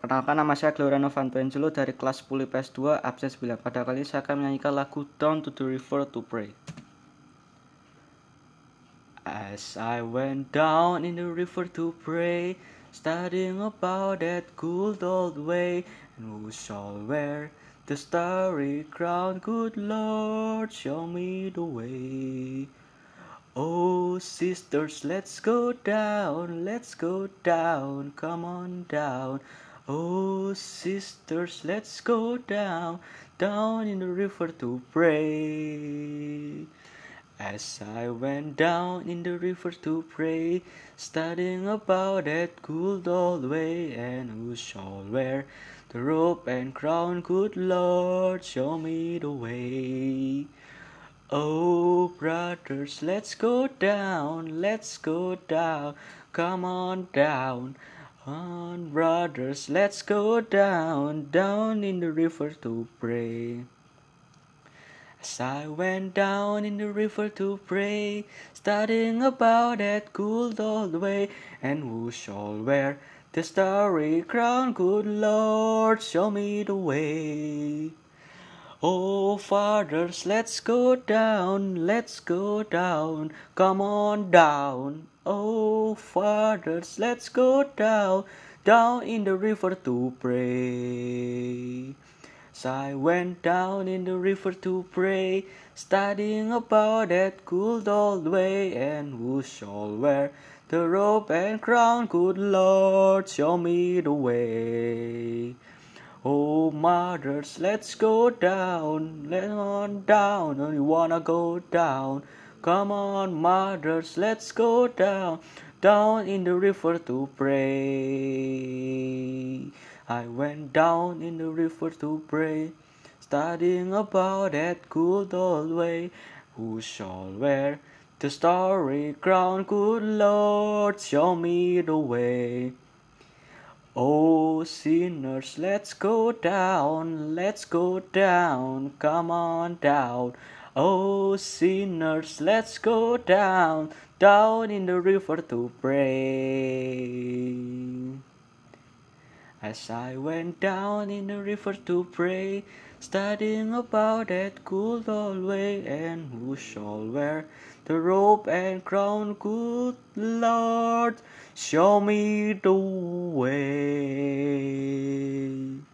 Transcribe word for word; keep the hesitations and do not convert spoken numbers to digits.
Perkenalkan, nama saya Gloriano Vantuenzulo dari kelas sepuluh I P S dua absen sembilan. Pada kali ini saya akan menyanyikan lagu Down to the River to Pray. As I went down in the river to pray, studying about that good old way, and who shall wear the starry crown? Good Lord, show me the way. Oh sisters, let's go down, let's go down, come on down. Oh sisters, let's go down, down in the river to pray. As I went down in the river to pray, studying about that good old way, and who shall wear the robe and crown? Good Lord, show me the way. Oh brothers, let's go down, let's go down, come on down. On brothers, let's go down, down in the river to pray. As I went down in the river to pray, studying about that good old way, and who shall wear the starry crown? Good Lord, show me the way. Oh fathers, let's go down, let's go down, come on down. Oh fathers, let's go down, down in the river to pray. So I went down in the river to pray, studying about that good old way, and who shall wear the robe and crown? Good Lord, show me the way. Oh mothers, let's go down, let's on down, and you wanna go down. Come on mothers, let's go down, down in the river to pray. I went down in the river to pray, studying about that good old way. Who shall wear the starry crown? Good Lord, show me the way. Oh sinners, let's go down, let's go down, come on down. Oh sinners, let's go down, down in the river to pray. As I went down in the river to pray, studying about that good old way, and who shall wear the robe and crown? Good Lord, show me the way.